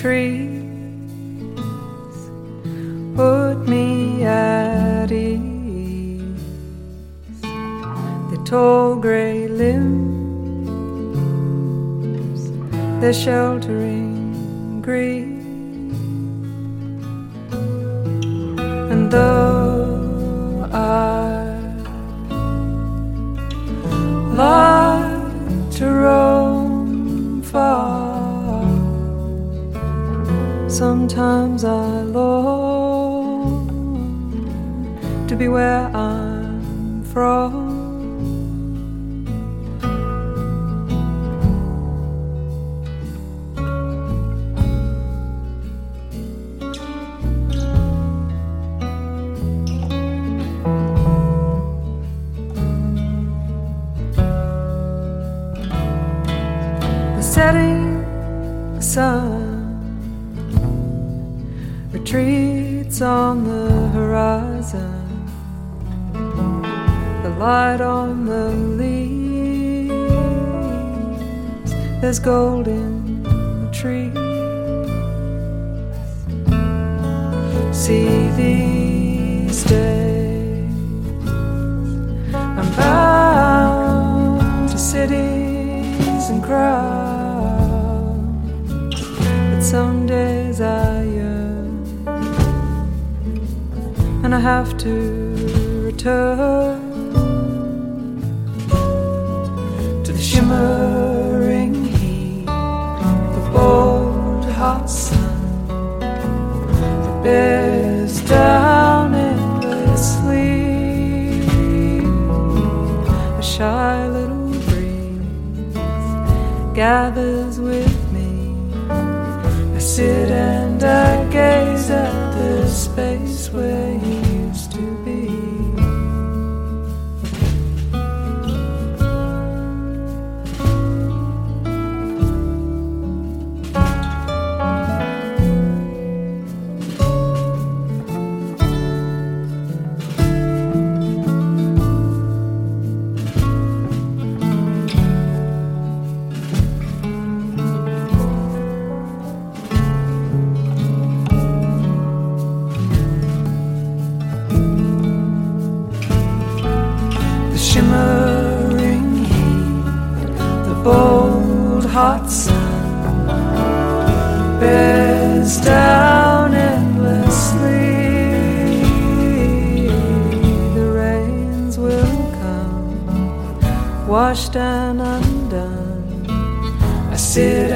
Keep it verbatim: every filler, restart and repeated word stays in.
trees put me at ease. Their tall grey limbs, their sheltering green. And though I like to roam far, sometimes I long to be where I'm from. Setting sun retreats on the horizon, the light on the leaves, there's gold in the trees. See these days I'm bound to cities and crowds, some days I yearn, and I have to return to the shimmering heat, the bold hot sun that bears down endlessly. A shy little breeze gathers with I sit and I gaze at the space where you used to be. Shimmering heat, the bold hot sun bears down endlessly. The rains will come, washed and undone. I sit